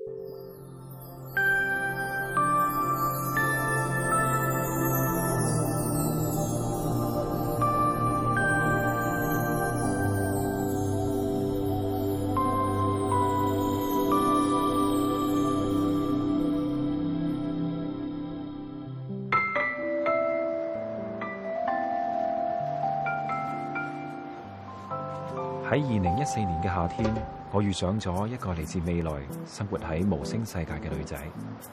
喺2014年嘅夏天，我遇上咗一個嚟自未來、生活喺無聲世界嘅女仔。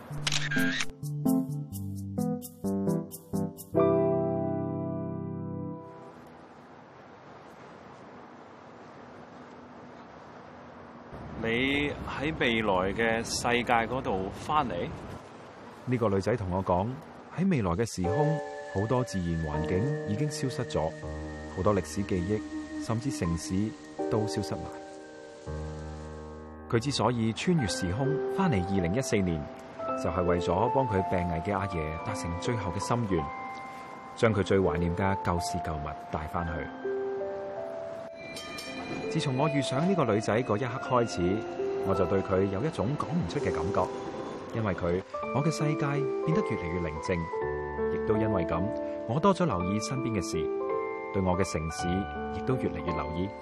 你喺未來嘅世界嗰度翻嚟？ 呢個女仔同我講，喺未來嘅時空，好多自然環境已經消失咗，好多歷史記憶，甚至城市都消失埋。佢之所以穿越時空翻嚟2014年，就係為咗幫佢病危嘅阿爺達成最後嘅心願，將佢最懷念嘅舊事舊物帶翻去。自從我遇上呢個女仔嗰一刻開始，我就對佢有一種講唔出嘅感覺，因為佢，我嘅世界變得越嚟越寧靜，亦都因為咁，我多咗留意身邊嘅事，對我嘅城市亦都越嚟越留意。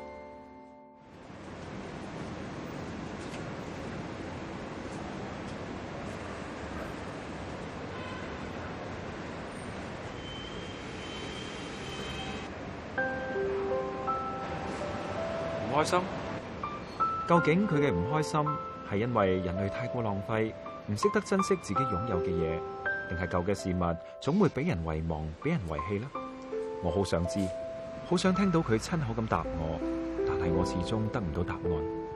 唔開心？ 究竟佢嘅唔開心係因為人類太過浪費，唔識得珍惜自己擁有嘅嘢，定係舊嘅事物總會俾人遺忘、俾人遺棄呢？我好想知，好想聽到佢親口咁答我，但係我始終得唔到答案。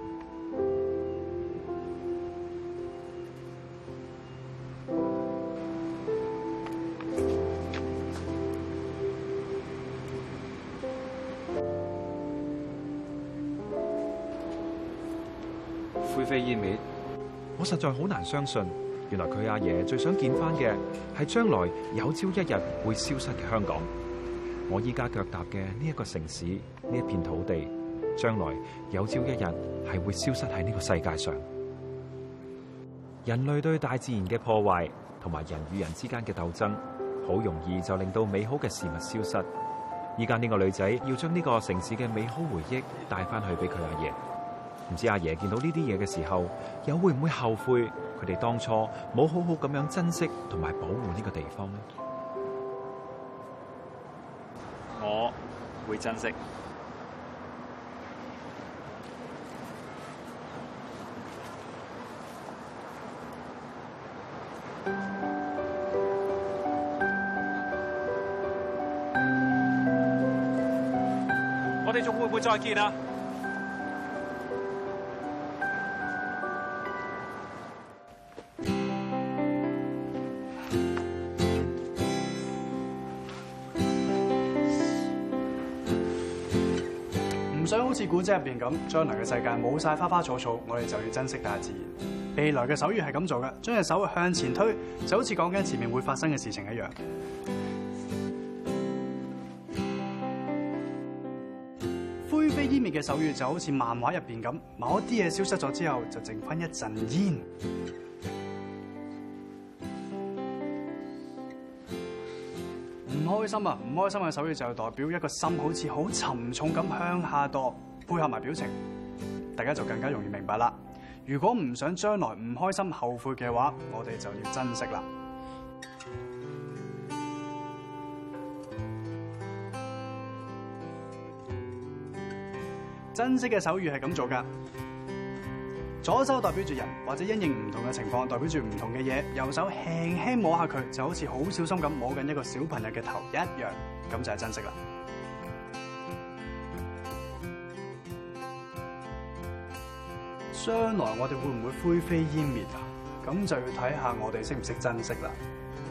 灰飛煙滅， 我實在好難相信，原來佢阿爺最想見翻嘅係將來有朝一日會消失嘅香港。我依家腳踏嘅呢一個城市，呢一片土地，將來有朝一日係會消失喺呢個世界上。人類對大自然嘅破壞，同埋人與人之間嘅鬥爭，好容易就令到美好嘅事物消失。依家呢個女仔要將呢個城市嘅美好回憶帶翻去俾佢阿爺。唔知阿爺見到呢啲嘢嘅時候，又會唔會後悔佢哋當初冇好好咁樣珍惜同埋保護呢個地方呢？ 我會珍惜。我哋仲會唔會再見啊？ 唔想好似古仔入邊咁，將來嘅世界冇晒花花草草，我哋就要珍惜大自然。未來嘅手語係咁做嘅，將隻手向前推，就好似講緊前面會發生嘅事情一樣。灰飛煙滅嘅手語就好似漫畫入邊咁，某一啲嘢消失咗之後，就剩翻一陣煙。唔開心啊！唔開心嘅手語就代表一個心好似好沉重咁向下墮，配合埋表情，大家就更加容易明白啦。如果唔想將來唔開心後悔嘅話，我哋就要珍惜啦。珍惜嘅手語係咁做㗎。左手代表住人，或者因應唔同嘅情況，代表住唔同嘅嘢。右手輕輕摸下佢，就好似好小心咁摸緊一個小朋友嘅頭一樣，咁就係珍惜啦。將來我哋會唔會灰飛煙滅啊？咁就要睇下我哋識唔識珍惜啦。